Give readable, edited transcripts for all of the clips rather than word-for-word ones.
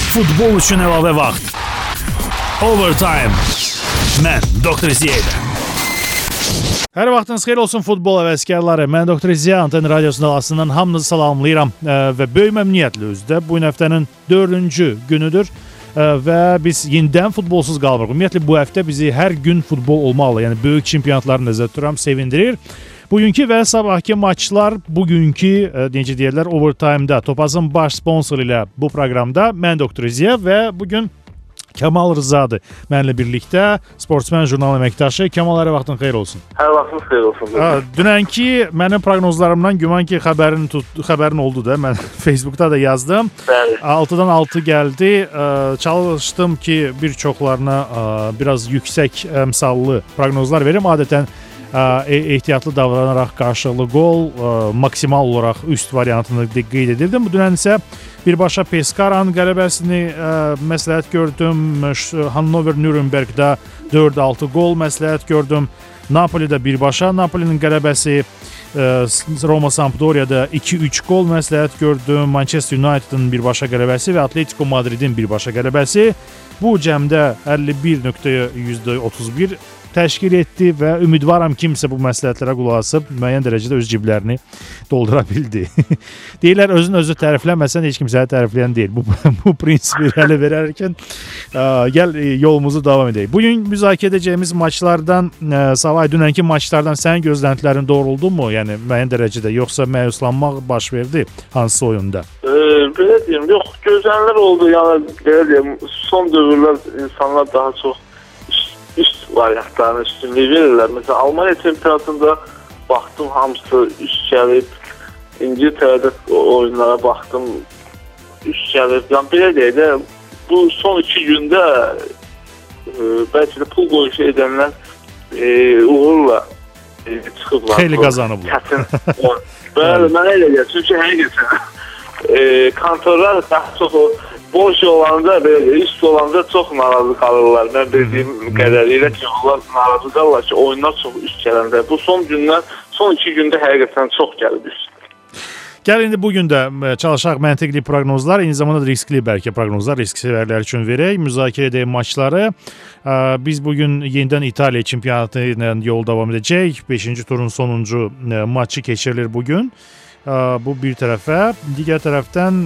Futbol üçün əlavə vaxt. Overtime. Mən Dr. Ziyədə. Hər vaxtınız xeyir olsun futbol həvəskarları. Mən Dr. Ziya Anten Radiosunun alasından hamınızı salamlayıram və böyük məmnuniyyətlə özdə bu həftənin 4-cü günüdür və biz yenidən futbolsuz qalmırıq. Ümumiyyətlə bu həftə bizi hər gün futbol olmalı, yəni böyük çempionatları nəzərdə tuturam, sevindirir. Bugünkü və sabahki maçlar bugünkü, necə deyirlər, Overtime-da Topazın baş sponsoru ilə bu proqramda mən Dr. Ziya və bugün Kamal Rızadır mənimlə birlikdə, sportsmen jurnal əməkdaşı. Kamal, hər vaxtın xeyir olsun. Hər vaxtın xeyir olsun. Dünənki mənim proqnozlarımdan güman ki xəbərin oldu da, mən Facebookda da yazdım. Bəli. 6-dan 6 gəldi. Çalışdım ki bir çoxlarına biraz yüksək əmsallı proqnozlar verim. Adətən ehtiyatlı davranaraq qarşılıqlı gol maksimal olaraq üst variantını qeyd edirdim. Bu dünən isə birbaşa Pescaranın qələbəsini məsləhət gördüm. Hannover Nürnbergdə 4-6 gol məsləhət gördüm. Napolidə birbaşa Napolinin qələbəsi, Roma Sampdoria'da 2-3 gol məsləhət gördüm. Manchester United'ın birbaşa qələbəsi və Atletico Madridin birbaşa qələbəsi bu cəmdə 51.31 təşkil etdi və ümidvaram kimsə bu məsləhətlərə qulaq asıb müəyyən dərəcədə öz ciblərini doldura bildi. Deyirlər, özünü tərifləməsən heç kimsəni tərifləyən deyil. Bu prinsipi irəli verərkən gəl yolumuzu davam edək. Bugün müzakirə edəcəyimiz maçlardan, savay dünənki maçlardan sənin gözləntilərin doğruldumu? Yəni müəyyən dərəcədə, yoxsa məyuslanmaq baş verdi hansısa oyunda? Belə deyim, yox, gözlənilər oldu. Yəni belə deyim, son dövrlər insanlar daha çox üst variantlarına üstünlük verirlər. Məsələn, Almanya çempionatında baxdım, hamısı üst gəlib. İngiltərədə oyunlara baxdım, üst gəlib. Yəni belə deyək də, bu son 2 gündə bəlkə də pul qoyuşu edənlər uğurla çıxıblar. Xeyli qazanıblar. Bəli, mənə elə gəlir. Çünki həqiqətən kontorlar daha çox boş olanda, belə üst olanda çox narazı qalırlar. Mən bildiyim qədərilə ki, onlar narazı qalırlar ki, oyunlar çox üst gələndə. Bu son 2 gündə həqiqətən çox gəlib üst. Gəl indi bugün də çalışaq məntiqli proqnozlar, eyni zamanda riskli bəlkə proqnozlar, risk sevərlər üçün verək, müzakirə edək maçları. Biz bugün yenidən İtaliya çempionatı ilə yol davam edəcək. 5-ci turun sonuncu maçı keçirilir bugün. Bu bir tərəfə. Digər tərəfdən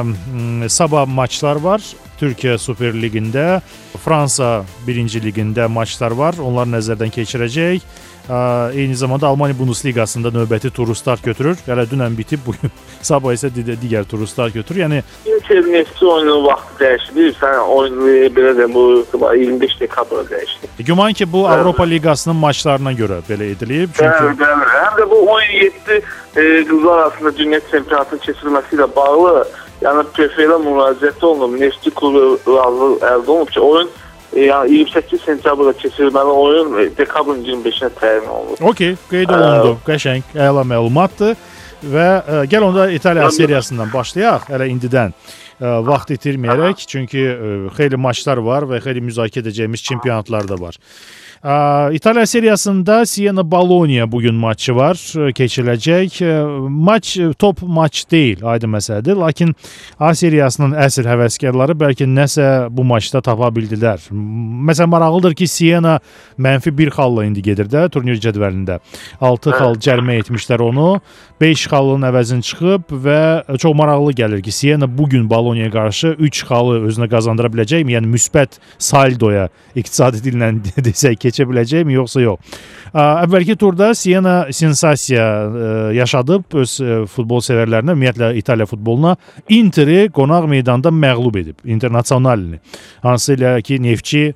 sabah maçlar var. Türkiyə Super Ligində, Fransa 1-ci ligində maçlar var. Onlar nəzərdən keçirəcək. Eyni zamanda Almanya Bundesliqasında növbəti turu start götürür. Hələ dünən bitib, bugün sabah isə digər turu start götürür. Yəni Nefti oyunun vaxtı dəyişdi. Sən oyunu belə də bu 25 dekabra dəyişdi. Güman ki, bu Avropa Liqasının maçlarına görə belə edilib. Çünki həm də bu 17 qızlar arasında dünya çempionatının keçirilməsi ilə bağlı, yəni PFL-ə müraciət olunub, Nefti klubu razılıq əldə olunub ki, oyun yəni 28 sentyabrda keçirilməli oyun dekabrın 25-nə təyin olunur. Okey, qeyd olundu. Qəşəng, əla məlumatdır. Və gəl onda İtaliya seriyasından başlayaq, hələ indidən vaxt itirməyərək, çünki xeyli maçlar var və xeyli müzakirə edəcəyimiz çempionatlar da var. İtaliya seriyasında Siena-Bologna bugün maçı var, keçiriləcək. Maç top maç deyil, aydın məsələdir. Lakin A seriyasının əsl həvəskarları bəlkə nəsə bu maçda tapa bildilər. Məsələn, maraqlıdır ki, Siena -1 xalla indi gedir də turnir cədvəlində. 6 xal cərimə etmişlər onu. 5 xalın əvəzini çıxıb və çox maraqlı gəlir ki, Siena bugün Bologna'ya qarşı 3 xalı özünə qazandıra biləcəkmi? Yəni müsbət saldoya iqtisadi dillə desək keçə biləcəkmi, yoxsa yox? Əvvəlki turda Siena sensasiya yaşadıb öz futbol sevərlərinə, ümumiyyətlə İtaliya futboluna Interi qonaq meydanda məğlub edib, Internazionalini. Hansı ilə ki, Neftçi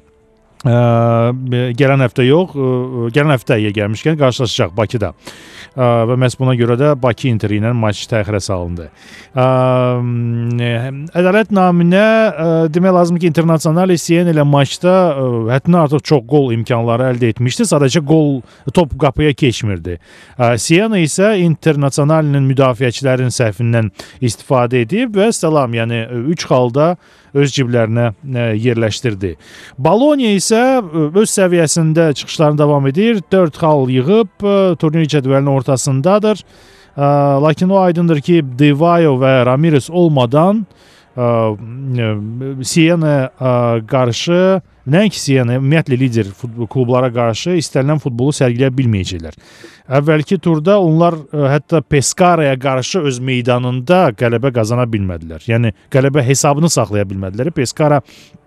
gələn həftə yox, gələn həftəyə gəlmişkən qarşılaşacaq Bakıda. Və məhz buna görə də Bakı Interi ilə maç təxirə salındı. Ədalət naminə demək lazım ki, Internazionali Siena ilə maçda həddindən artıq çox gol imkanları əldə etmişdi. Sadəcə top qapıya keçmirdi. Siena isə Internazionalinin müdafiəçilərin səhvindən istifadə edib və salam, yəni 3 xalda öz ciblərinə yerləşdirdi. Bologna isə öz səviyyəsində çıxışlarını davam edir. 4 xal yığıb turnir cədvəlinin ortasındadır. Lakin o aydındır ki, Di Vaio və Ramirez olmadan Siena qarşı, nəinki Siena, ümumiyyətlə lider klublara qarşı istənilən futbolu sərgiləyə bilməyəcəklər. Əvvəlki turda onlar hətta Pescaraya qarşı öz meydanında qələbə qazana bilmədilər. Yəni qələbə hesabını saxlaya bilmədilər. Pescara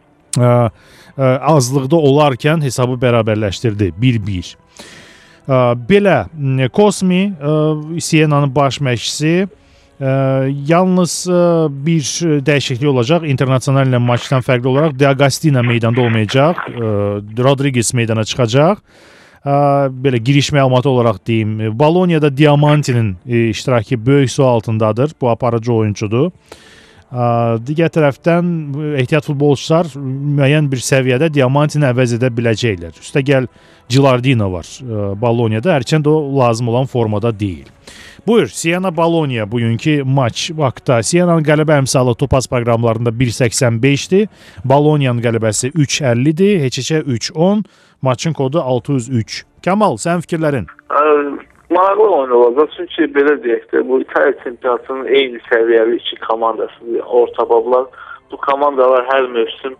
azlıqda olarkən hesabı bərabərləşdirdi 1-1. Belə Kosmi, Siena'nın baş məşqçisi, yalnız bir dəyişiklik olacaq. İnternasional ilə maçdan fərqli olaraq D'Agostino meydanda olmayacaq. Rodriguez meydana çıxacaq. Belə giriş məlumatı olaraq deyim. Bolonya'da Diamanti'nin iştirakı böyük sual altındadır. Bu aparıcı oyuncudur. Digər tərəfdən ehtiyat futbolçular müəyyən bir səviyyədə Diamantini əvəz edə biləcəklər. Üstəgəl Gilardino var Bolonya'da. Hərçənd o lazım olan formada deyil. Buyur, Siena-Bolonya bugünkü maç vaxtda. Siena'nın qələbə əmsalı Topaz proqramlarında 1.85-dir. Bolonya'nın qələbəsi 3.50-dir. Heç-heçə 3.10. Maçın kodu 603. Kamal, sənin fikirlərin? Maraqlı oyun olacaq. Çünki belə deyək də, bu İtaliya çempionatının eyni səviyyəli iki komandası, orta bablar. Bu komandalar hər mövsüm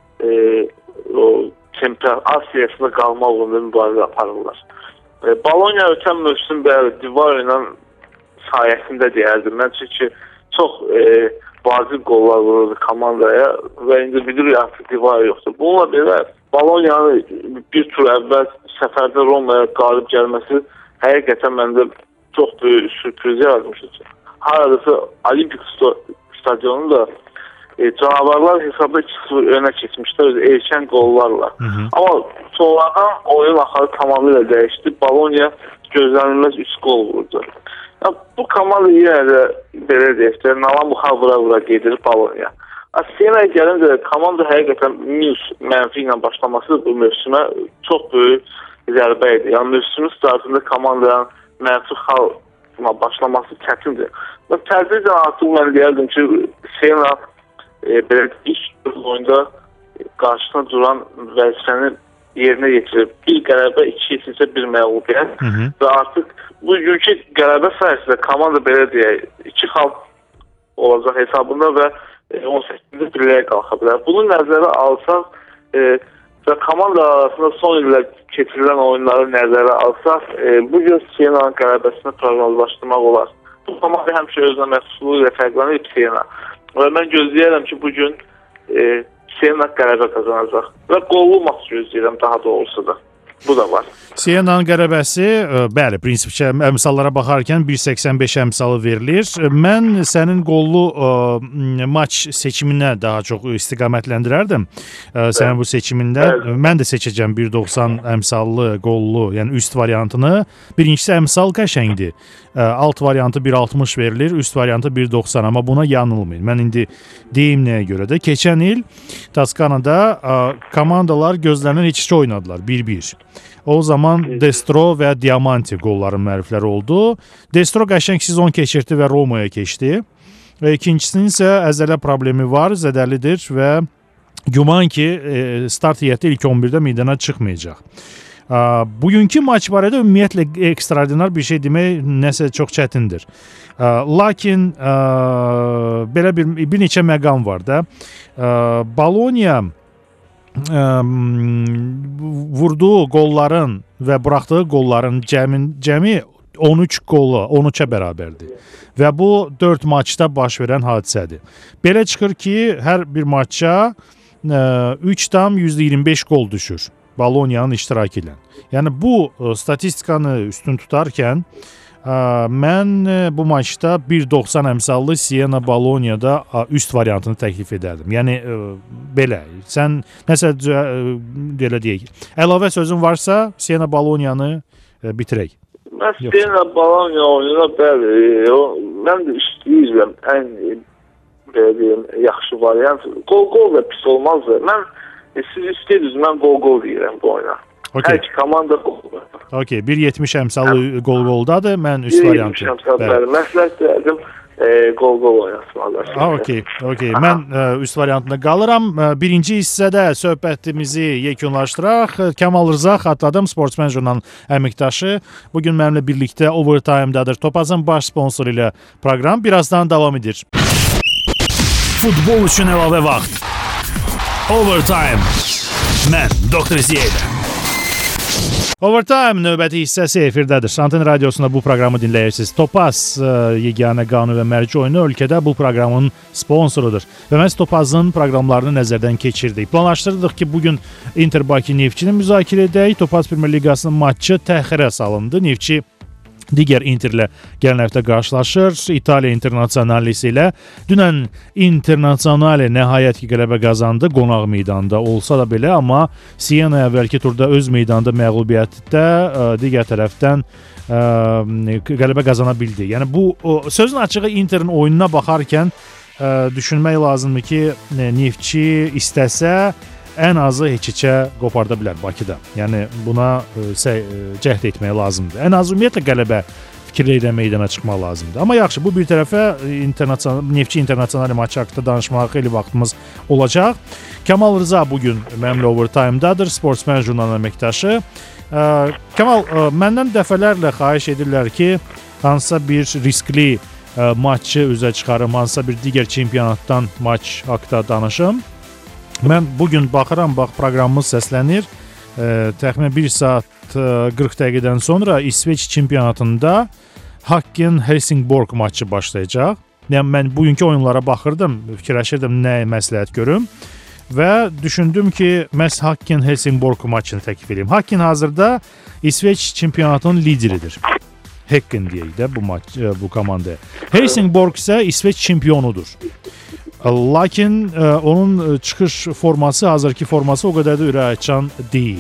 Asiyasında qalmaq uğrunda mübarizə aparırlar. Bologna ötən mövsüm Divario ilə sayəsində deyərdim mən, çünki çox vacib qollar vururdu komandaya və indi bilirik artıq Divario yoxdur. Bununla belə Bologna'nın bir tur əvvəl səfərdə Roma'ya qalib gəlməsi həqiqətən məndə çox böyük sürpriz yaratmışdır. Haradasa Olimpik stadionunda canavarlar hesabda 2-0 önə keçmişlər erkən qollarla. Amma sonradan oyun axarı tamamilə dəyişdi. Bologna gözlənilməz 3 qol vurdu. Bu komanda yenə də belə deyək də, nalamuxa vura gedir Bologna. Siena'ya gəlincə komanda həqiqətən mənfi ilə başlaması bu mövsümə çox böyük zərbə idi. Yəni mövsümün startında komandanın mənfi xalla başlaması çətindir. Tədricən artıq mən deyərdim ki, Siena belə ilk oyunda qarşısına duran vəzifəni yerinə yetirib. Bir qələbə, 2 isə bir məğlubiyyət və artıq bugünkü qələbə sayəsində komanda belə deyək, 2 xal olacaq hesabında və 18-ci birliyə qalxa bilər. Bunu nəzərə alsaq və komanda arasında son illər keçirilən oyunları nəzərə alsaq, bugün Siena'nın qələbəsini proqnozlaşdırmaq olar. Bu komanda həmişə özünə məxsusluğu ilə fərqlənib Siena. Və mən gözləyərəm ki, bugün Siena qələbə qazanacaq. Və qollu maç gözləyirəm daha doğrusu da. Bu da var. Siena'nın qələbəsi, bəli, prinsipcə əmsallara baxarkən 1.85 əmsalı verilir. Mən sənin qollu maç seçiminə daha çox istiqamətləndirərdim. Sənin bu seçimində. Mən də seçəcəm 1.90 əmsallı qollu, yəni üst variantını. Birincisi əmsal qəşəngdir. Alt variantı 1.60 verilir, üst variantı 1.90, amma buna yanılmayın. Mən indi deyim nəyə görə də. Keçən il Toskanada komandalar gözlənilən iç-içə oynadılar 1-1. O zaman Destro və Diamanti qolların müəllifləri oldu. Destro qəşəng sezon keçirdi və Roma'ya keçdi. İkincisinin isə əzələ problemi var, zədəlidir və güman ki, start heyəti ilk 11-də meydana çıxmayacaq. Bugünkü maç barədə ümumiyyətlə ekstraordinar bir şey demək nəsə çox çətindir. Lakin belə bir neçə məqam var da. Bologna vurduğu qolların və buraxdığı qolların cəmi 13 qolu 13-ə bərabərdir. Və bu 4 maçda baş verən hadisədir. Belə çıxır ki, hər bir maçça 3,25 qol düşür Bologna'nın iştirakı ilə. Yəni bu statistikanı üstün tutarkən mən bu maçda 1.90 əmsallı Siena-Bolonya'da üst variantını təklif edərdim. Yəni belə. Sən nəsə belə deyək. Əlavə sözün varsa Siena-Bolonya'nı bitirək. Mən Siena-Bolonya oyununa bəli, mən də istəyirəm ən belə deyim, yaxşı variant. Qol da pis olmaz. Siz istəyirsiniz, mən qol deyirəm bu oyuna. Okay. Hər iki komanda qol. Okay, 1.70 əmsalı qol-qoldadır. Mən üst variantı. 1.70 əmsalı. Məsləhət verdim. Qol oynasınlar. Okay. Mən üst variantında qalıram. Birinci hissədə söhbətimizi yekunlaşdıraq. Kamal Rza xatladım, Sportsmen jurnalının əməkdaşı. Bugün mənimlə birlikdə Overtime-dadır. Topazın baş sponsoru ilə proqram birazdan davam edir. Futbol üçün əlavə vaxt. Overtime. Mən Dr. Ziyədə. Overtime növbəti hissəsi efirdədir. Anten Radiosunda bu proqramı dinləyirsiniz. Topaz yeganə qanun və mərci oyunu ölkədə bu proqramın sponsorudur. Və məhz Topazın proqramlarını nəzərdən keçirdik. Planlaşdırdıq ki, bugün Inter Bakı Neftçini müzakirə edək. Topaz Premyer Liqasının matçı təxirə salındı. Neftçi digər Interlə gələn həftə qarşılaşır. İtaliya Internasionalisi ilə. Dünən Internasionali nəhayət ki qələbə qazandı qonaq meydanda olsa da belə, amma Siena əvvəlki turda öz meydanda məğlubiyyətdə digər tərəfdən qələbə qazana bildi. Yəni bu sözün açığı Interin oyununa baxarkən düşünmək lazımdır ki, Neftçi istəsə ən azı heç-heçə qoparda bilər Bakıda. Yəni buna cəhd etmək lazımdır. Ən az ümumiyyətlə qələbə fikirlə meydana çıxmaq lazımdır. Amma yaxşı, bu bir tərəfə Neftçi internasional maçı haqqında danışmağa xeyli vaxtımız olacaq. Kamal Rıza bugün mənimlə Overtime-dadır, Sportsman jurnalının əməkdaşı. Kamal, məndən dəfələrlə xahiş edirlər ki, hansısa bir riskli maçı üzə çıxarım, hansısa bir digər çempionatdan maç haqqında danışım. Mən bugün baxıram, proqramımız səslənir. Təxminən 1 saat 40 dəqiqədən sonra İsveç çempionatında Häcken-Helsingborg maçı başlayacaq. Yəni mən bugünkü oyunlara baxırdım, fikirləşirdim nə məsləhət görüm və düşündüm ki, məhz Häcken-Helsingborg maçını təklif edeyim. Häcken hazırda İsveç çempionatının lideridir. Häcken deyək də bu komanda. Helsingborg isə İsveç çempionudur. Lakin onun çıxış forması, hazırki forması o qədər də ürəkaçan deyil.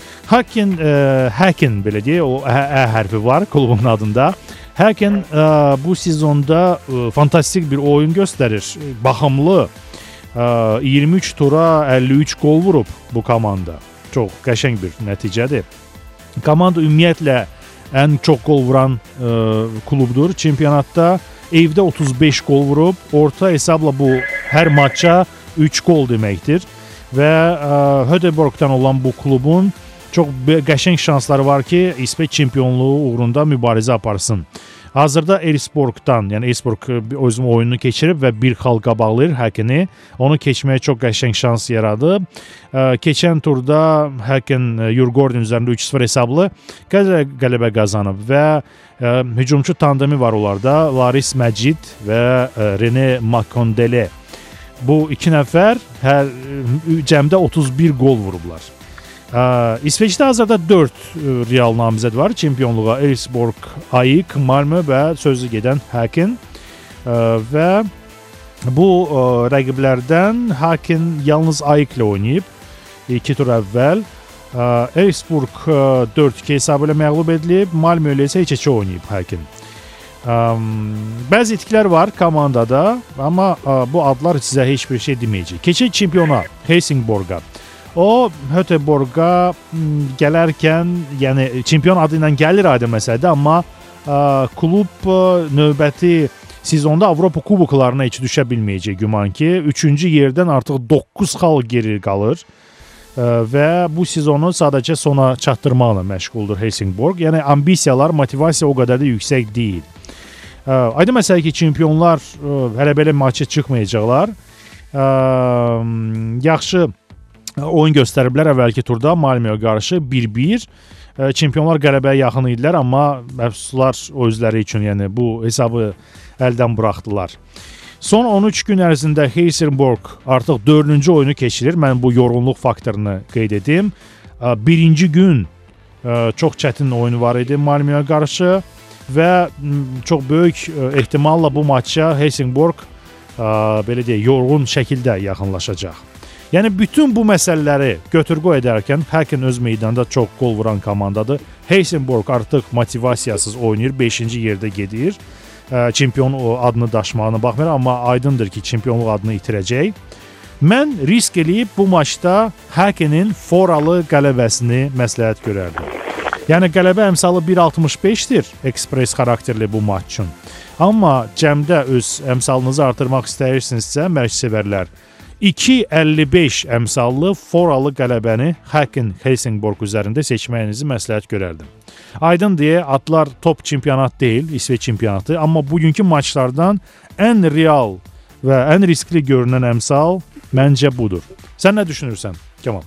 Häcken belə deyək, o ə hərfi var klubun adında. Häcken bu sezonda fantastik bir oyun göstərir. Baxımlı 23 tura 53 gol vurub bu komanda. Çox qəşəng bir nəticədir. Komanda ümumiyyətlə ən çox gol vuran klubdur çempionatda. Evdə 35 gol vurub, orta hesabla bu hər maça 3 gol deməkdir və Höteborgdan olan bu klubun çox qəşəng şansları var ki, İsveç çempionluğu uğrunda mübarizə aparsın. Hazırda Elfsborgdan, yəni Elfsborg özünün oyununu keçirib və bir xal qabaqlayır Häckeni. Onu keçməyə çox qəşəng şans yaradı. Keçən turda Häcken Djurgården üzərində 3-0 hesablı qələbə qazanıb və hücumçu tandemi var onlarda. Laris Məcid və René Makondele. Bu iki nəfər cəmdə 31 gol vurublar. İsveçdə hazırda 4 real namizəd var çempionluğa. Elfsborg, AEK, Malmö və sözü gedən Häcken. Və bu rəqiblərdən Häcken yalnız AEK ilə oynayıb 2 tur əvvəl. Elfsborg 4-2 hesabı ilə məğlub edilib, Malmö ilə isə heç-heçə oynayıb Häcken. Bəzi itkilər var komandada, amma bu adlar sizə heç bir şey deməyəcək. Keçək çempiona Helsingborga. O Höteborga gələrkən, yəni çempion adı ilə gəlir aydın məsələdir, amma klub növbəti sezonda Avropa kuboklarına heç düşə bilməyəcək güman ki. 3-cü yerdən artıq 9 xal geri qalır və bu sezonu sadəcə sona çatdırmaqla məşğuldur Helsingborg. Yəni ambisiyalar, motivasiya o qədər də yüksək deyil. Aydın məsələ ki, çempionlar hələ belə maçı çıxmayacaqlar. Yaxşı oyun göstəriblər əvvəlki turda Malmöyə qarşı 1-1. Çempionlar qələbəyə yaxın idilər, amma məfsuslar özləri üçün, yəni bu hesabı əldən buraxdılar. Son 13 gün ərzində Helsingborg artıq 4-cü oyunu keçirir. Mən bu yorğunluq faktorunu qeyd edim. Birinci gün çox çətin oyunu var idi Malmöyə qarşı və çox böyük ehtimalla bu maça Helsingborg belə deyək, yorğun şəkildə yaxınlaşacaq. Yəni bütün bu məsələləri götür-qoy edərkən Häcken öz meydanda çox gol vuran komandadır. Helsingborg artıq motivasiyasız oynayır, 5-ci yerdə gedir. Çempion adını daşımağına baxmayaraq, amma aydındır ki, çempionluq adını itirəcək. Mən risk eləyib bu maçda Häckenin foralı qələbəsini məsləhət görərdim. Yəni qələbə əmsalı 1.65-dir ekspres xarakterli bu maç üçün. Amma cəmdə öz əmsalınızı artırmaq istəyirsinizsə, məşqçivərlər 2.55 əmsallı foralı qələbəni Häcken Helsingborg üzərində seçməyinizi məsləhət görərdim. Aydın deyə, adlar top çempionat deyil, İsveç çempionatı, amma bugünkü maçlardan ən real və ən riskli görünən əmsal məncə budur. Sən nə düşünürsən, Kamal?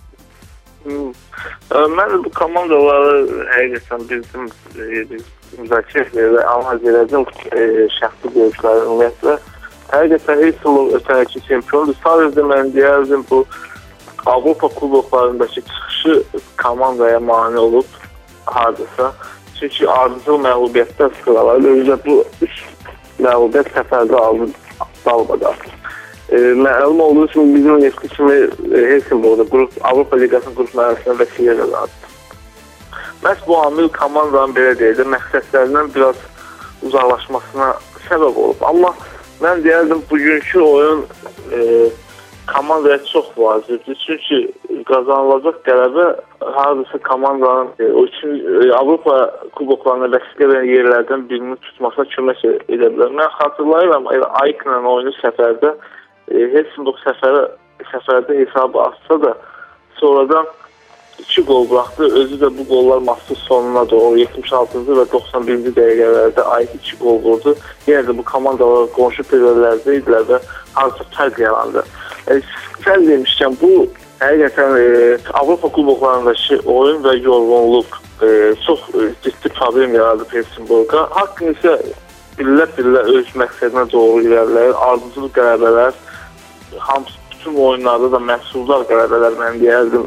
Mən bu komandaları həqiqətən bizim müzakirə və analiz edəcəm şəxsi görüşləri ümumiyyətlə. Həqiqətən Heysel ötənəki çempiondur. Sadəcə mən deyərdim bu Avropa kuboklarındakı çıxışı komandaya mane olub hardasa. Çünki ardıcıl məğlubiyyətlər sıralar. Özə bu 3 məğlubiyyət səfərdə aldı dalbada. Məlum olduğu üçün bizim Nefti kimi Helsingborgda Avropa Liqasının qrup mərhələsində vəsilə qazandı. Məhz bu amil komandanın belə deyək də məqsədlərindən biraz uzaqlaşmasına səbəb olub. Amma mən deyərdim bugünkü oyun komandaya çox vacibdir. Çünki qazanılacaq qələbə hardasa komandanın Avropa kuboklarına vəsilə verən yerlərdən birini tutmasına kömək edə bilər. Mən xatırlayıram, Aykla oyunu səfərdə Helsingborg səfərdə hesabı açsa da sonradan 2 gol buraxdı. Özü də bu qollar maçın sonuna doğru 76-cı və 91-ci dəqiqələrdə Ayk 2 gol vurdu. Yenə də bu komandalar qonşu periodlarda idilər və harca fərq yarandı. Sən demişkən, bu həqiqətən Avropa kuboklarındakı oyun və yorğunluq çox ciddi problem yaradı Helsingborga. Haqqın isə billə öz məqsədinə doğru ilərləyir. Ardıcıl qələbələr, hamısı bütün oyunlarda da məhsuldar qələbələr mən deyərdim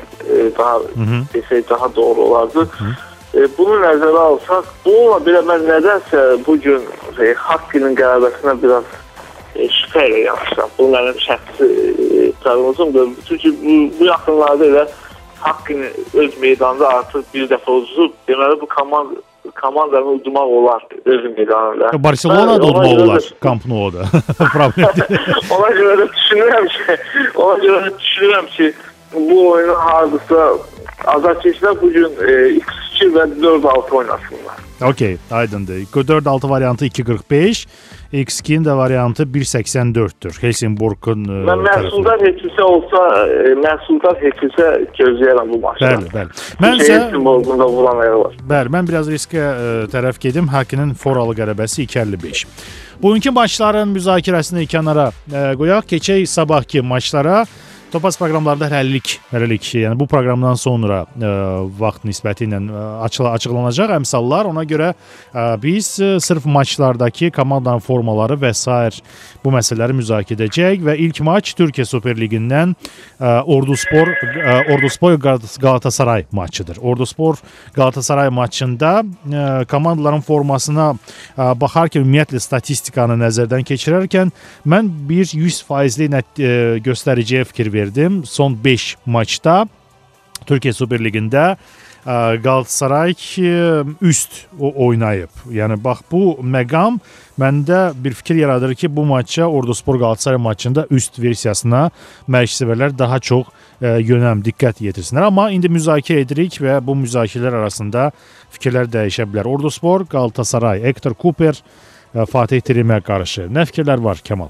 daha doğru olardı. Bunu nəzərə alsaq, bununla belə mən nədənsə bugün Haqqinin qələbəsinə biraz şübhə ilə yanaşıram. Bu mənim şəxsi proqnozumdur. Çünki bu yaxınlarda elə Haqqini öz meydanda artıq bir dəfə uzub, deməli bu komandanı udmaq olar öz meydanında. Barcelona da udmaq olar Camp Nou-da. Ona görə də düşünürəm ki, bu oyunu hardasa azarkeşlər bugün X2 və 4-6 oynasınlar. Okey, aydındır. 4-6 variantı 2.45, X2'nin də variantı 1.84'tür. Helsingborg'un məhsuldar heçilsə gözləyərəm bu maçda. Bəli. Mənsə Helsingborg'un da vuran ayağı var. Bəli, mən biraz riskə tərəf gedim. Haqqinin foralı qələbəsi 2.55. Bugünkü maçların müzakirəsini kənara qoyaq. Keçək sabahki maçlara. Topaz proqramlarda hələlik, yəni bu proqramdan sonra vaxt nisbəti ilə açıqlanacaq əmsallar. Ona görə biz sırf maçlardakı komandanın formaları və s. bu məsələləri müzakirə edəcək və ilk maç Türkiyə Super Ligindən Orduspor Galatasaray maçıdır. Orduspor Galatasaray maçında komandaların formasına baxarkən ümumiyyətlə statistikanı nəzərdən keçirərkən mən bir 100% göstəriciyə fikir verdim. Son 5 maçda Türkiyə Super Ligində Galatasaray üst oynayıb. Yəni bax bu məqam məndə bir fikir yaradır ki, bu maça Orduspor Galatasaray maçında üst versiyasına məşqçilər daha çox yönəm, diqqət yetirsinlər. Amma indi müzakirə edirik və bu müzakirələr arasında fikirlər dəyişə bilər. Orduspor, Galatasaray, Hector Cooper, Fatih Terimə qarşı. Nə fikirlər var, Kamal?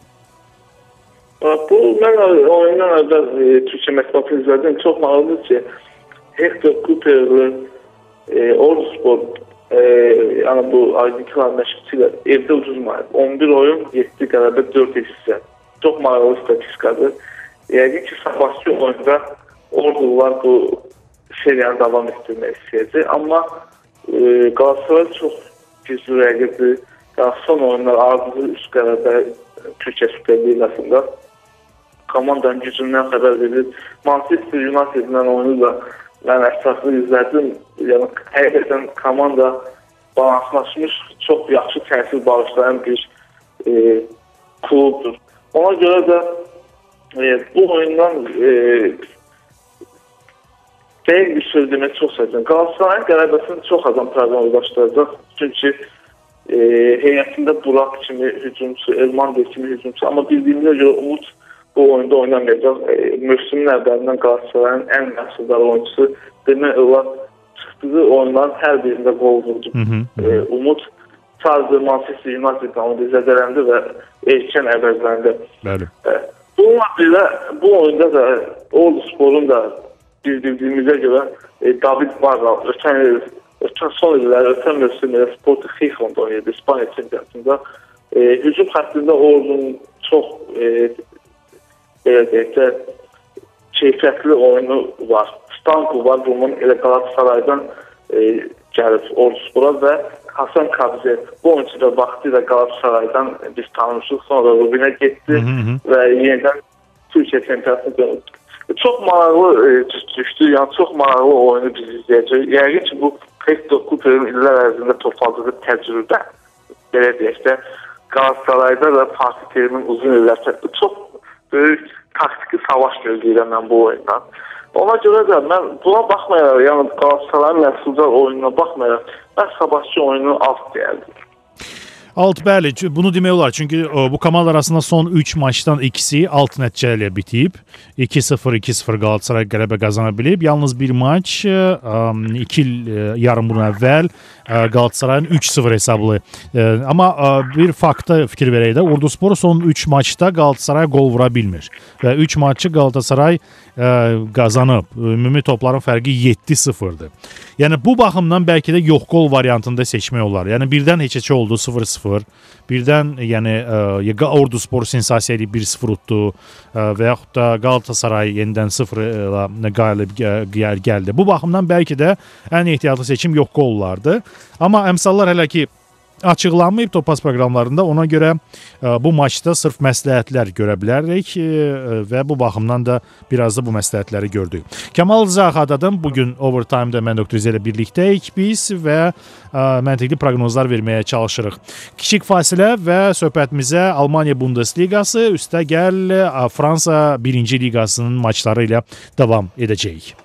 Bu, mən oyundan əvvəl Türkiyə mətbuatını izlədim. Çox maraqlıdır ki, Hector Cooper'lı Orduspor, yəni bu Argentina məşqçilər evdə uduzmayıb. 11 oyun, 7 qələbə, 4 hissə. Çox maraqlı statistikadır. Yəqin ki, sabahki oyunda Ordular bu seriyanı davam etdirmək istəyəcək. Amma Galatasaray çox güclü rəqibdir. Son oyunlar ardıcı üst qələbə Türkiyə Super Liqasında komandanın gücündən xəbər verir. Manchester United-dən oyunu da mən əsaslı izlədim. Yəni, həqiqətən komanda balanslaşmış, çox yaxşı təsir bağışlayan bir klubdur. Ona görə də bu oyundan deyil bir söz demək çox səhvdir. Galatasarayın qələbəsini çox adam proqnozlaşdıracaq. Çünki heyətində Burak kimi hücumçu, Elmander kimi hücumçu. Amma bildiyimizə görə Umut bu oyunda oynamayacaq. Mövsümün əvvəlindən Galatasarayın ən məhsuldar oyuncusu. Demək olar, çıxdığı oyunların hər birində qol vurdu. Umut sadəcə Manchester United-dan zədələndi və erkən əvəzləndi. Bununla belə bu oyunda da Ordusporun da bildiyimizə görə David Barra ötən son illər, ötən mövsümdə Sporting Gijón oynayırdı İspaniya çempionatında. Hücum xəttində Ordunun çox belə deyək də keyfiyyətli oyunu var. Stanku var, bunun elə Qalatasaraydan gəlib Orduspora və Hasan Kabze. Bu oyuncu da vaxtı ilə Qalatasaraydan biz tanımışıq. Sonra Rubinə getdi və yenidən Türkiyə çempionatına dönüldü. Çox maraqlı düşdü, yəni çox maraqlı oyunu biz izləyəcək. Yəqin ki, bu Hector Cooper'ın illər ərzində topladığı təcrübə, belə deyək də, Qalatasarayda da Fatih Terim'in uzun illər çox böyük taktiki savaş gözləyirəm mən bu oyundan. Ona görə də mən buna baxmayaraq, yəni Qalatasarayın məhsuldar oyununa baxmayaraq, mən sabahçı oyunu alt deyərdim. Alt, bəli, bunu demək olar. Çünki bu komandalar arasında son 3 maçdan ikisi alt nəticə ilə bitib. 2-0, 2-0 Galatasaray qələbə qazana bilib. Yalnız bir maç 2 il yarım bunun əvvəl Galatasarayın 3-0 hesablı. Amma bir fakta fikir verək də, Orduspor son 3 maçda Galatasaray gol vura bilmir. Və 3 maçı Galatasaray qazanıb. Ümumi topların fərqi 7-0'dır. Yəni bu baxımdan bəlkə də yox gol variantında seçmək olar. Yəni birdən heç oldu 0-0. Birdən yəni Orduspor sensasiya edib 1-0 utdu və yaxud da Galatasaray yenidən 0 ilə qalib gəldi. Bu baxımdan bəlkə də ən ehtiyatlı seçim yox qollardı. Amma əmsallar hələ ki açıqlanmayıb Topaz proqramlarında. Ona görə bu maçda sırf məsləhətlər görə bilərik və bu baxımdan da biraz da bu məsləhətləri gördük. Kamal Zaxadadım. Bugün Overtime-da mən Dr. Z ilə birlikdəyik biz və məntiqli proqnozlar verməyə çalışırıq. Kiçik fasilə və söhbətimizə Almaniya Bundesligası, üstəgəl Fransa 1-ci liqasının maçları ilə davam edəcəyik.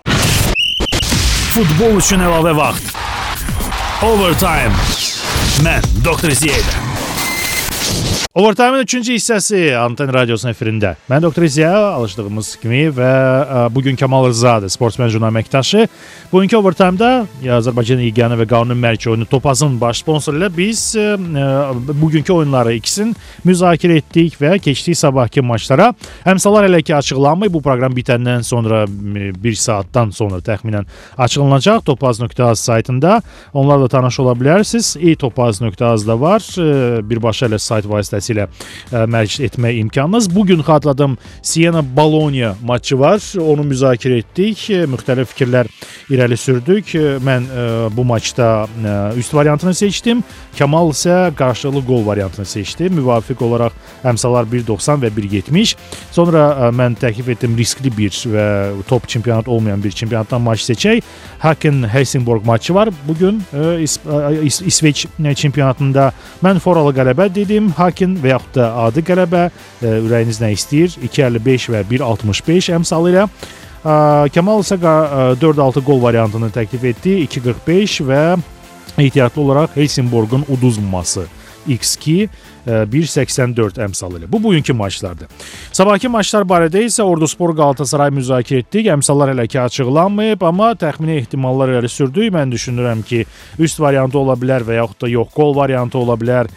Futbol üçün əlavə vaxt. Overtime. Mən Dr. Ziyədə. Overtime-ın 3-cü hissəsi Anten Radiosunun efirində. Mən Dr. Ziya, alışdığımız kimi və bugün Kamal Rızadır, sportsmen jurnal əməkdaşı. Bugünkü Overtime-da Azərbaycan İqyanı və Qanun Mərki oyunu Topazın baş sponsoru ilə biz bugünkü oyunları ikisini müzakirə etdik və keçdik sabahki maçlara. Əmsallar hələ ki açıqlanmayıb. Bu proqram bitəndən sonra 1 saatdan sonra təxminən açıqlanacaq Topaz.az saytında. Onlarla tanış ola bilərsiniz. Topaz.az-da var. Birbaşa ilə sayt vasitəsilə mərc etmək imkanınız. Bugün xatırladım Siena-Bologna maçı var. Onu müzakirə etdik. Müxtəlif fikirlər irəli sürdük. Mən bu maçda üst variantını seçdim. Kamal isə qarşılıqlı gol variantını seçdi. Müvafiq olaraq əmsallar 1.90 və 1.70. Sonra mən təklif etdim riskli bir və top çempionat olmayan bir çempionatdan maç seçək. Haken-Helsingborg maçı var. Bugün İsveç çempionatında mən foralı qələbə dedim. Haken və yaxud da adi qələbə, ürəyiniz nə istəyir? 2.55 və 1.65 əmsalı ilə. Kamal isə 4-6 gol variantını təklif etdi. 2.45 və ehtiyatlı olaraq Helsingborgun uduzmaması. X2 1.84 əmsalı ilə. Bu bugünkü maçlardır. Sabahki maçlar barədə isə Orduspor Galatasaray müzakirə etdik. Əmsallar hələ ki açıqlanmayıb, amma təxmini ehtimallar irəli sürdük. Mən düşünürəm ki, üst variantı ola bilər və yaxud da yox gol variantı ola bilər.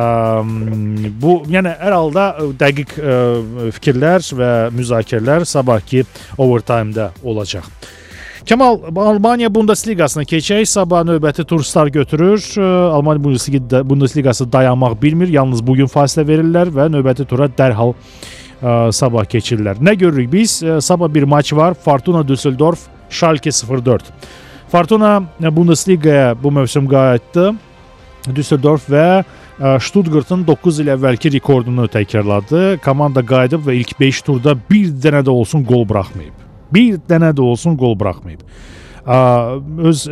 Bu, yəni hər halda dəqiq fikirlər və müzakirələr sabahki Overtime-da olacaq. Kamal, Almaniya Bundesligasına keçək. Sabah növbəti tur start götürür. Almaniya Bundesligası dayanmaq bilmir. Yalnız bugün fasilə verirlər və növbəti tura dərhal sabah keçirlər. Nə görürük biz? Sabah bir maç var. Fortuna Düsseldorf, Schalke 04. Fortuna Bundesligaya bu mövsüm qayıtdı. Düsseldorf və Stuttgartın 9 il əvvəlki rekordunu təkrarladı. Komanda qayıdıb və ilk 5 turda bir dənə də olsun gol buraxmayıb. Bir dənə də olsun gol buraxmayıb. Öz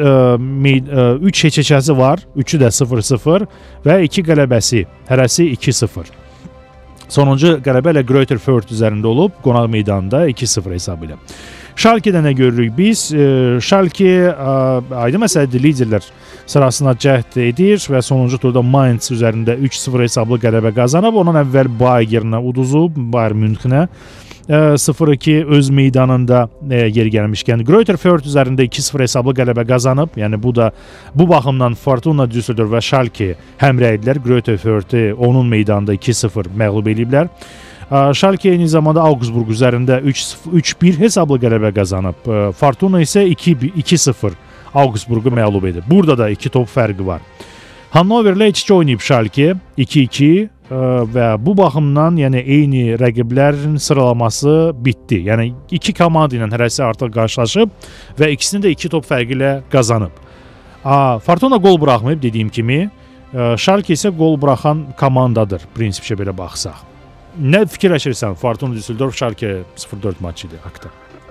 3 heçəçəsi var. 3-ü də 0-0 və 2 qələbəsi. Hərəsi 2-0. Sonuncu qələbə ilə Greuther Fürth üzərində olub. Qonaq meydanında 2-0 hesabı ilə. Schalke-də nə görürük biz? Schalke aydın məsələdir, liderlər sırasına cəhd edir və sonuncu turda Mainz üzərində 3-0 hesablı qələbə qazanıb. Ondan əvvəl Bayernə uduzub, Bayern Münchenə 0-2 öz meydanında yeri gəlmişkən Greuther Fürth üzərində 2-0 hesablı qələbə qazanıb. Yəni bu da bu baxımdan Fortuna Düsseldorf və Schalke həmrəydilər. Greuther Fürthü onun meydanında 2-0 məğlub ediblər. Schalke eyni zamanda Augsburg üzərində 3-1 hesablı qələbə qazanıb. Fortuna isə 2-0 Augsburgu məğlub edib. Burada da 2 top fərqi var. Hannoverlə 2-2 oynayıb Schalke 2-2. və bu baxımdan, yəni eyni rəqiblərin sıralaması bitdi. Yəni iki komanda ilə hərəsi artıq qarşılaşıb və ikisini də 2 top fərqi ilə qazanıb. Fortuna gol buraxmayıb dediyim kimi. Schalke isə gol buraxan komandadır, prinsipcə belə baxsaq. Nə fikirləşirsən Fortuna Düsseldorf Schalke 0-4 maçı idi haqda?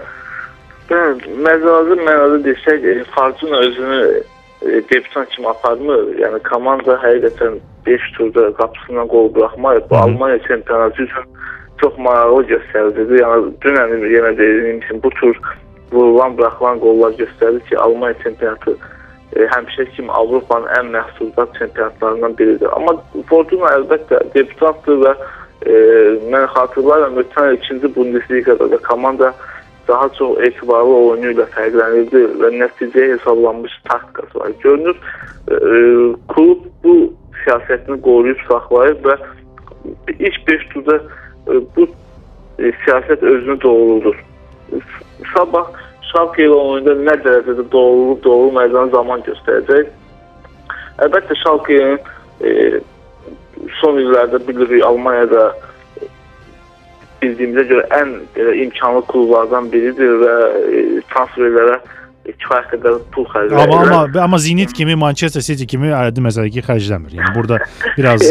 Məcazi mənada desək, Fortuna özünü debutan kimi aparmır. Yəni komanda həqiqətən 5 turda qapısından gol buraxmayıb. Bu Almanya çempionatı üçün çox maraqlı göstəricidir. Yəni dünən yenə dediyim kimi bu tur vurulan, buraxılan qollar göstərir ki, Almanya çempionatı həmişə kimi Avropanın ən məhsuldar çempionatlarından biridir. Amma Fortuna əlbəttə debutantdır və mən xatırlayıram, ötən 2-ci Bundesligada da komanda daha çox etibarlı oyunu ilə fərqlənirdi və nəticəyə hesablanmış taktikası var. Görünür, klub bu siyasətini qoruyub saxlayıb və ilk 5 turda bu siyasət özünü doğruldur. Sabah Schalke ilə oyunda nə dərəcədə doğrulub, doğrulmayacağını zaman göstərəcək. Əlbəttə Schalke'nin son illərdə bilirik Almanyada bildiyimizə görə ən imkanlı klublardan biridir və transferlərə kifayət qədər pul xərcləyir. Amma Zenit kimi, Manchester City kimi aydın məsələ ki, xərcləmir. Yəni burada biraz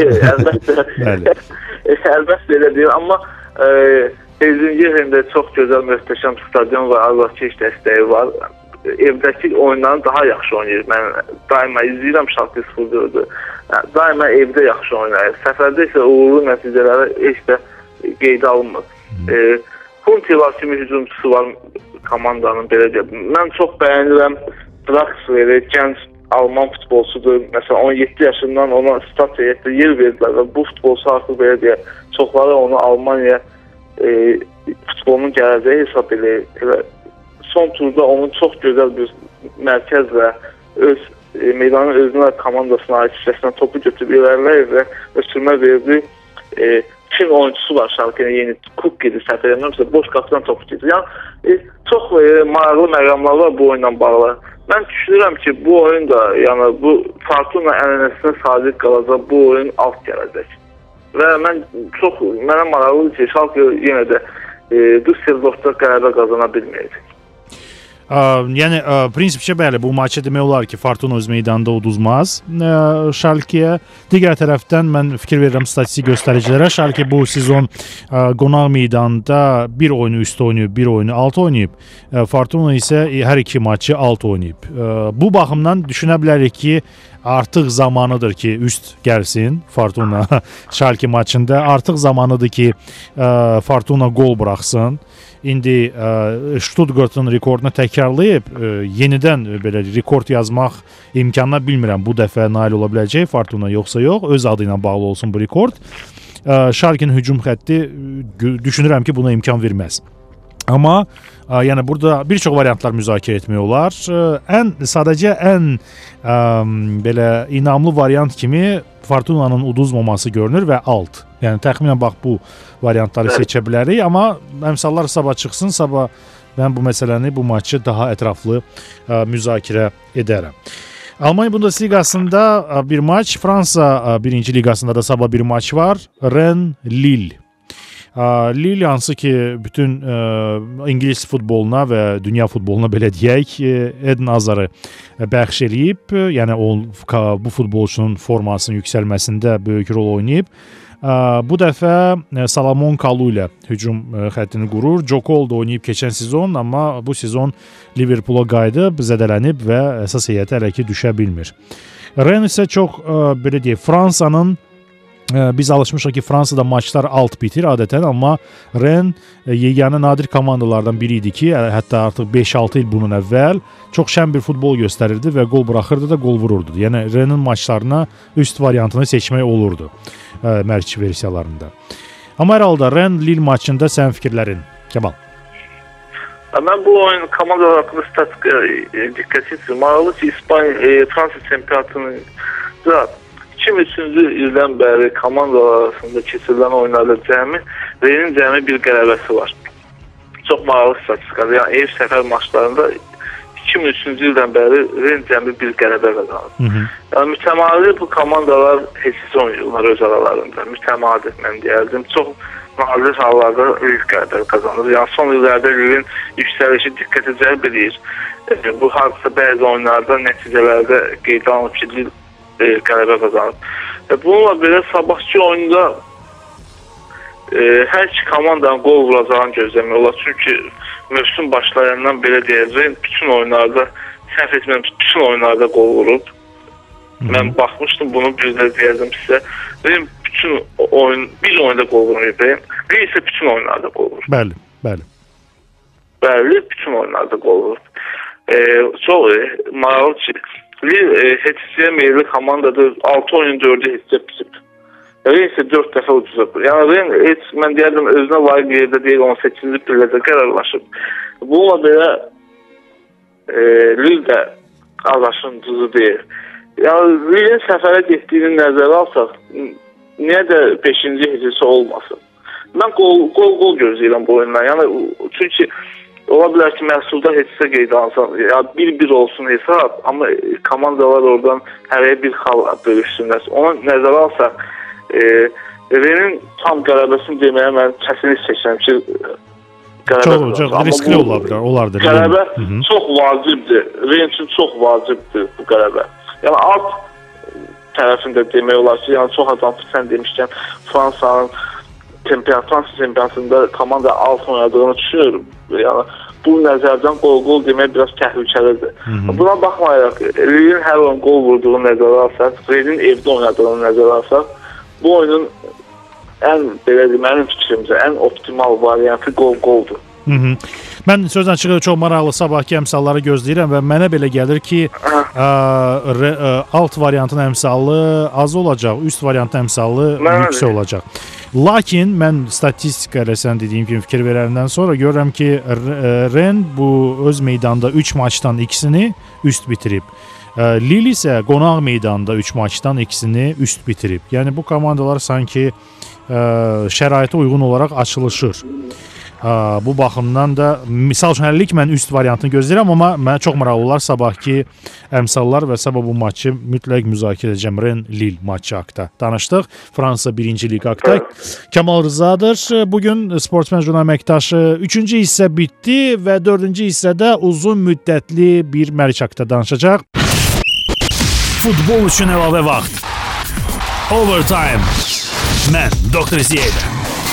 əlbəttə elə deyil, amma Gelsenkirchen'də çox gözəl, möhtəşəm stadion və azarkeş dəstəyi var. Evdəki oyunlarını daha yaxşı oynayır. Mən daima izləyirəm Schalke 0-4-ü. Daima evdə yaxşı oynayır. Səfərdə isə uğurlu nəticələri heç də qeydə alınmır. Huntelaar kimi hücumçusu var komandanın, belə deyək. Mən çox bəyənirəm Draxler'i, gənc Alman futbolçudur. Məsələn, 17 yaşından ona start heyətdə yer verdilər və bu futbolçu artıq belə deyək, çoxları onu Almanya futbolunun gələcəyi hesab edir. Son turda onun çox gözəl bir mərkəzlə öz meydanın özünə, komandasına aid hissəsindən topu götürüb ilərləyir və sürmə verdi. Çin oyuncusu var Schalke'nin, yeni Cook gedir, səhv eləmirəmsə, boş qapıdan topu gedir. Yəni, çox maraqlı məqamlar var bu oyunla bağlı. Mən düşünürəm ki, bu oyun da, yəni bu Fortuna ənənəsinə sadiq qalacaq, bu oyun alt gələcək. Və mənə maraqlıdır ki, Schalke yenə də Düsseldorfda qələbə qazana bilməyəcək. Yəni prinsipcə bəli, bu maçı demək olar ki, Fortuna öz meydanında uduzmaz Schalke'yə. Digər tərəfdən mən fikir verirəm statistik göstəricilərə. Schalke bu sezon qonaq meydanında bir oyunu üst oynayıb, bir oyunu alt oynayıb. Fortuna isə hər iki maçı alt oynayıb. Bu baxımdan düşünə bilərik ki, artıq zamanıdır ki, üst gəlsin Fortuna Schalke maçında. Artıq zamanıdır ki, Fortuna gol buraxsın. İndi Stuttgart'ın rekordunu təkrarlayıb yenidən belə rekord yazmaq imkanına bilmirəm. Bu dəfə nail ola biləcək Fortuna yoxsa yox. Öz adı ilə bağlı olsun bu rekord. Schalke'nin hücum xətti düşünürəm ki, buna imkan verməz. Amma yəni burada bir çox variantlar müzakirə etmək olar. Sadəcə ən belə inamlı variant kimi Fortuna'nın uduzmaması görünür və alt. Yəni təxminən bax bu variantları seçə bilərik, amma əmsallar sabah çıxsın, sabah mən bu məsələni, bu maçı daha ətraflı müzakirə edərəm. Almanya Bundesliqasında bir maç, Fransa 1-ci liqasında da sabah bir maç var. Rennes-Lille. Lille hansı ki bütün İngilis futboluna və dünya futboluna belə deyək Eden Hazard'ı bəxş eləyib. Yəni bu futbolçunun formasının yüksəlməsində böyük rol oynayıb. Bu dəfə Salomon Kalou ilə hücum xəttini qurur. Joe Cole da oynayıb keçən sezon, amma bu sezon Liverpool'a qayıdıb, zədələnib və əsas heyətə hələ ki düşə bilmir. Rennes isə çox belə deyək, Fransanın biz alışmışıq ki, Fransada maçlar alt bitir adətən, amma Rennes yeganə nadir komandalardan biri idi ki, hətta artıq 5-6 il bunun əvvəl çox şən bir futbol göstərirdi və gol buraxırdı da gol vururdu. Yəni Rennes'in maçlarına üst variantını seçmək olurdu mərc versiyalarında. Amma hər halda Rennes-Lille maçında sənin fikirlərin, Kemal? Mən bu oyun komandalar haqqında statistikaya diqqət edirəm. Maraqlı ki, Fransa çempionatının 2003-cü ildən bəri komandalar arasında keçirilən oyunlarda Rennes'in cəmi bir qələbəsi var. Çox maraqlı statistikadır. Yəni ev səfər maçlarında 2 2003-cü ildən bəri Ren cəmi bir qələbə qazanıb. Yəni mütəmadi bu komandalar heç oynayırlar öz aralarında. Mütəmadi mən deyərdim. Çox nadir hallarda Lille qələbə qazanır. Yəni son illərdə Lille'in yüksəlişi diqqətə cəlb edir. Bu hadisə bəzi oyunlarda, nəticələrdə qeydə alınıb ki, Lille qələbə qazanıb. Bununla belə sabahçı oyunda hər iki komandanın qol vuracağını gözləmək olar. Çünki mövsüm başlayandan belə deyəcəyim, bütün oyunlarda, səhv etməyəm, bütün oyunlarda qol vurub. Mən baxmışdım bunu, bir də deyəcəm sizə. Benim bütün oyun, bir oyunda qol vurmayıb. Bir isə bütün oyunlarda qol vurub. Bəli, bəli. Bəli, bütün oyunlarda qol vurub. Çox maraqlı ki, Lille heçsiyə meyilli komandadır. 6 oyun 4'ü heçsiyə bitib. Ren isə 4 dəfə ucuzub. Yəni Ren heç, mən deyərdim, özünə layiq yerdə deyil, 18-ci pillədə qərarlaşıb. Bununla belə Lille də ağaşın ucuzu deyil. Yəni Lille'in səfərə getdiyini nəzərə alsaq, niyə də 5-ci hecisi olmasın? Mən qol gözləyirəm bu oyundan. Yəni çünki ola bilər ki, məhsulda hecisə qeydə alsaq, ya 1-1 olsun hesab, amma komandalar oradan hərəyə bir xal bölüşsünlər. Onu nəzərə alsaq, Ren'in tam qələbəsini deməyə mən kəsinlik çəkirəm ki, qələbə çox riskli ola bilər, olardır. Qələbə çox vacibdir. Ren üçün çox vacibdir bu qələbə. Yəni alt tərəfində demək olar ki, yəni çox adam sən demişkən Fransa çempionatında komanda alt oynadığını düşünürüm. Yəni bu nəzərdən qol demək biraz təhlükəlidir. Buna baxmayaraq, Lille'in hər oyun qol vurduğunu nəzərə alsaq, Ren'in evdə oynadığını nəzərə alsaq, bu oyunun mənim fikrimcə ən optimal variantı qoldur. Mən sözlə çıxır çox maraqlı sabahki əmsalları gözləyirəm və mənə belə gəlir ki, alt variantın əmsalı az olacaq, üst variantın əmsalı yüksək olacaq. Lakin mən statistika ilə sən dediyim kimi fikir verəndən sonra görürəm ki, Ren bu öz meydanda 3 maçdan 2'sini üst bitirib. Lille isə qonaq meydanda 3 maçdan 2'sini üst bitirib. Yəni bu komandalar sanki şəraitə uyğun olaraq açılışır. Bu baxımdan da misal üçün hələlik mən üst variantını gözləyirəm, amma mənə çox maraqlı olar sabahki əmsallar və sabah bu maçı mütləq müzakirə edəcəm. Ren-Lille maçı haqda danışdıq. Fransa 1-ci liqa haqda. Kamal Rızadır. Bugün Sportsmen jurnal əməkdaşı 3-cü hissə bitdi və 4-cü hissədə uzun müddətli bir mərc haqda danışacaq. Futbol üçün əlavə vaxt. Overtime. Mən Dr. Ziyədə.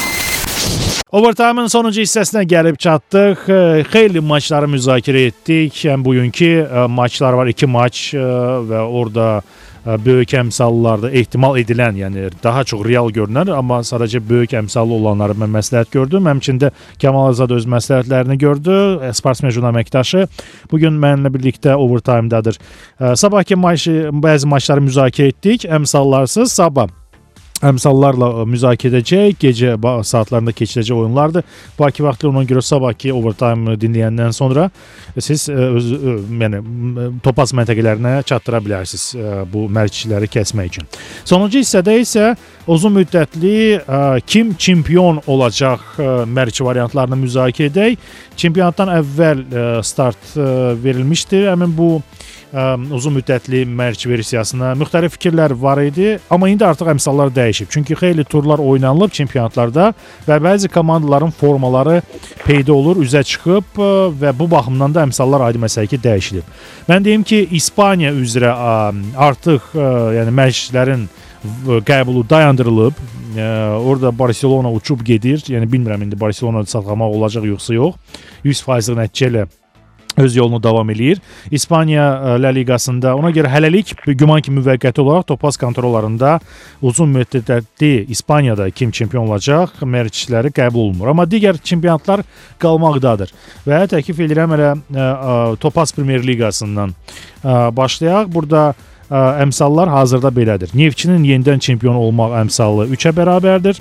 Overtime'ın sonuncu hissəsinə gəlib çatdıq. Xeyli maçları müzakirə etdik. Bugünkü maçlar var, 2 maç və orada böyük əmsallarda ehtimal edilən, yəni daha çox real görünər, amma sadəcə böyük əmsallı olanları mən məsləhət gördüm. Həmçində Kamal Azad öz məsləhətlərini gördü. Sportsmen jurnal əməkdaşı bugün mənimlə birlikdə Overtime'dadır. Sabahki bəzi maçları müzakirə etdik. Əmsallarsız sabah əmsallarla müzakirə edəcək. Gecə saatlarında keçiriləcək oyunlardır. Bakı vaxtı ona görə sabahki Overtime dinləyəndən sonra siz yəni topaz məntəqələrinə çatdıra bilərsiniz bu mərcləri kəsmək üçün. Sonuncu hissədə isə uzun müddətli kim çempion olacaq mərc variantlarını müzakirə edək. Çempionatdan əvvəl start verilmişdi. Həmin bu uzun müddətli mərc versiyasına müxtəlif fikirlər var idi, amma indi artıq əmsallar dəyişib. Çünki xeyli turlar oynanılıb çempionatlarda və bəzi komandaların formaları peyda olur, üzə çıxıb və bu baxımdan da əmsallar aydın məsələ ki, dəyişilib. Mən deyim ki, İspaniya üzrə artıq yəni mərclərin qəbulu dayandırılıb. Orada Barcelona uçub gedir. Yəni bilmirəm indi Barcelona satqamaq olacaq yoxsa yox. 100% nəticə ilə öz yolunu davam eləyir. İspaniya La Liqasında ona görə hələlik güman ki müvəqqəti olaraq topaz kontrollarında uzun müddətli İspaniyada kim çempion olacaq mərcləri qəbul olunmur. Amma digər çempionatlar qalmaqdadır. Və təklif edirəm elə Topaz Premyer Liqasından başlayaq. Burada əmsallar hazırda belədir. Neftçinin yenidən çempion olmaq əmsalı 3-ə bərabərdir.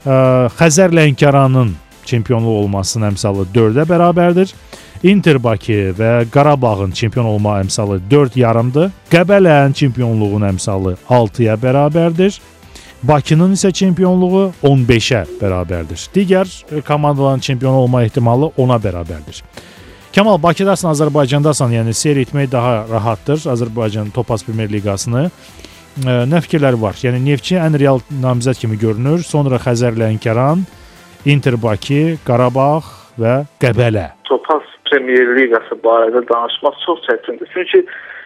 Xəzər Lənkəranın çempionluq olmasının əmsalı 4-ə bərabərdir. Inter Bakı və Qarabağın çempion olma əmsalı 4,5-dır. Qəbələnin çempionluğunun əmsalı 6-ya bərabərdir. Bakının isə çempionluğu 15-ə bərabərdir. Digər komandaların çempion olma ehtimalı 10-a bərabərdir. Kamal, Bakıdasan, Azərbaycandasan, yəni seyr etmək daha rahatdır Azərbaycan Topaz Premyer Liqasını. Nə fikirləri var? Yəni Neftçi ən real namizəd kimi görünür. Sonra Xəzər Lənkəran, Inter Bakı, Qarabağ və Qəbələ. Topaz Premyer Liqası barədə danışmaq çox çətindir. Çünki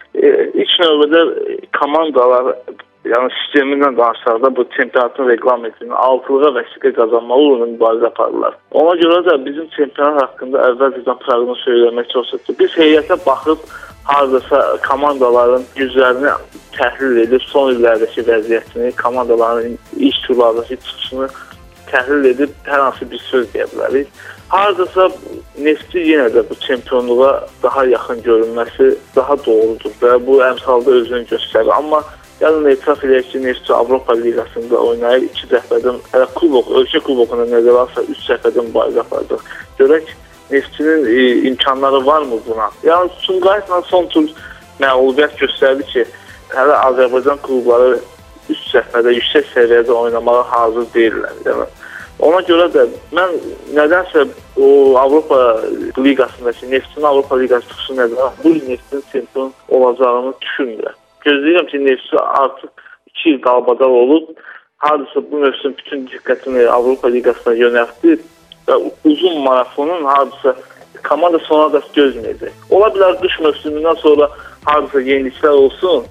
ilk növbədə komandalar, yəni sistemindən danışsaqda bu çempionatın reqlamentinin altılığa vəsiqə qazanmaq uğrunda mübarizə aparırlar. Ona görə də bizim çempionat haqqında əvvəlcədən proqnoz söyləmək çox çətindir. Biz heyətə baxıb hardasa komandaların güclərini təhlil edib, son illərdəki vəziyyətini, komandaların iş turlardakı çıxışını təhlil edib hər hansı bir söz deyə bilərik. Hardasa Neftçi yenə də bu çempionluğa daha yaxın görünməsi daha doğrudur və bu əmsalda özünü göstərir. Amma yəni etiraf edək ki, Neftçi Avropa Liqasında oynayır, 2 dəfədən, hələ ölkə kubokuna nəzərə alsa 3 dəfədən mübarizə aparacaq. Görək Neftçinin imkanları varmı buna? Yəni Sumqayıtla son tur məğlubiyyət göstərdi ki, hələ Azərbaycan klubları 3 dəfədə yüksək səviyyədə oynamağa hazır deyirlər. Yəni ona görə də mən nədənsə o Avropa Liqasındakı Neftçinin Avropa Liqası çıxışı nəzərə bu Neftçinin çempion olacağını düşünmürəm. Gözləyirəm ki, Neftçi artıq 2 il qalbadal olub, hardasa bu mövsüm bütün diqqətini Avropa Liqasına yönəltdi və uzun marafonun hardasa komanda sona da gözməyəcək. Ola bilər qış mövsümündən sonra hardasa yeniliklər olsun,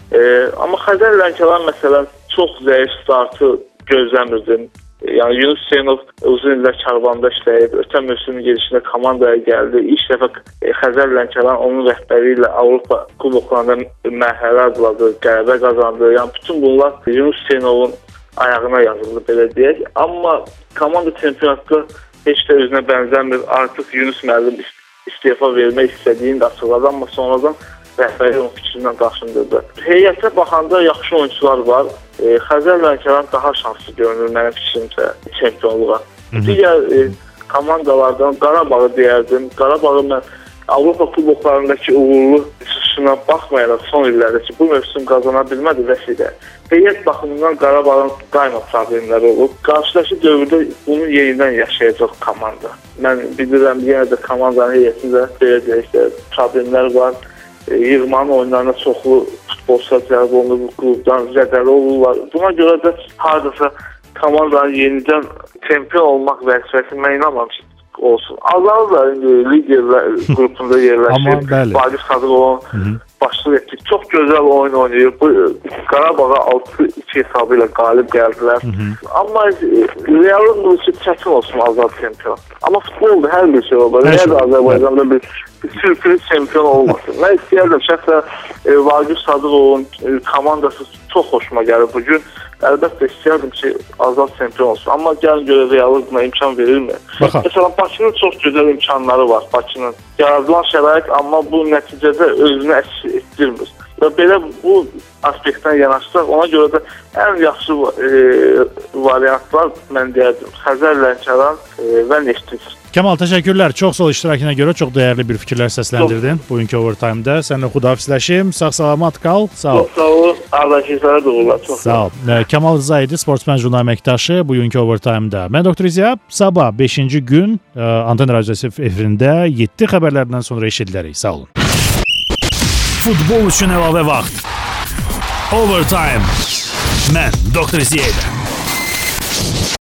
amma Xəzər Lənkəran məsələn çox zəif startı gözləmirdim. Yəni Yunus Hüseynov uzun illər Karvanda işləyib, ötən mövsümün gedişində komandaya gəldi. İlk dəfə Xəzər Lənkəran onun rəhbəri ilə Avropa kuboklarında mərhələ adladı, qələbə qazandı. Yəni bütün bunlar Yunus Hüseynovun ayağına yazıldı belə deyək. Amma komanda çempionatda heç də özünə bənzəmir. Artıq Yunus müəllim istefa vermək istədiyini də açıqladı, amma sonradan rəhbəri onun fikrindən daşındırdı. Heyətə baxanda yaxşı oyunçular var. Xəzər Lənkəran daha şanslı görünür mənim fikrimcə çempionluğa. Digər komandalardan Qarabağı deyərdim. Qarabağı mən Avropa kuboklarındakı uğurlu çıxışına baxmayaraq son illərdəki bu mövsüm qazana bilmədi vəsilə. Heyət baxımından Qarabağın daima problemləri olub. Qarşıdakı dövrdə bunu yenidən yaşayacaq komanda. Mən bilirəm yenə də komandanın heyətində belə deyək də problemlər var. Yığmanın oyunlarına çoxlu futbolçular cəlb olunur, bu klubdan zədəli olurlar. Buna görə də hardasa komandanın yenidən çempion olmaq vəzifəsi mən inanmam ki olsun. Azal da liderlər qrupunda yerləşib, Vaqif Sadıqovun başçılıq etdi. Çox gözəl oyun oynayır. Bu Qarabağa 6-2 hesabı ilə qalib gəldilər. Amma realın bu ki çətin olsun Azal çempion. Amma futbolda hər bir şey olur. Nəyə də Azərbaycanda bir sürpriz çempion olmasın. Mən istəyərdim şəxsən Vaqif Sadıqovun komandası çox xoşuma gəlir bugün. Əlbəttə istəyərdim ki, Azal çempion olsun. Amma gəlin görə realı buna imkan verilmir. Məsələn, Bakının çox gözəl imkanları var. Bakının yaradılan şərait, amma bu nəticədə özünü əks etdirmir. Və belə bu aspektdən yanaşsaq, ona görə də ən yaxşı variantlar mən deyərdim. Xəzər Lənkəran və Neftçi. Kamal, təşəkkürlər. Çox sağ ol iştirakına görə çox dəyərli bir fikirlər səsləndirdin bugünkü Overtime-da. Səninlə xudahafizləşim. Sağ-salamat qal. Sağ ol. Çox sağ ol. Ardakizlərə də uğurlar. Çox sağ ol. Kamal Rızaydı, sportsmen jurnal əməkdaşı bugünkü Overtime-da. Mən Doktor İzya. Sabah 5-ci gün Anten Radiosu efirində 7 xəbərlərdən sonra eşidilərik. Sağ olun. Futbol üçün əlavə vaxt. Overtime. Mən Doktor İzya.